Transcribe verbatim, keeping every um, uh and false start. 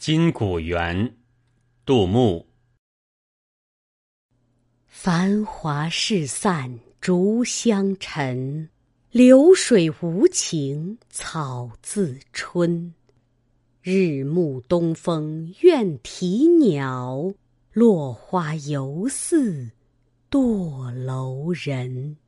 金谷园，杜牧。 繁华事散逐香尘，流水无情草自春。日暮东风怨啼鸟，落花犹似堕楼人。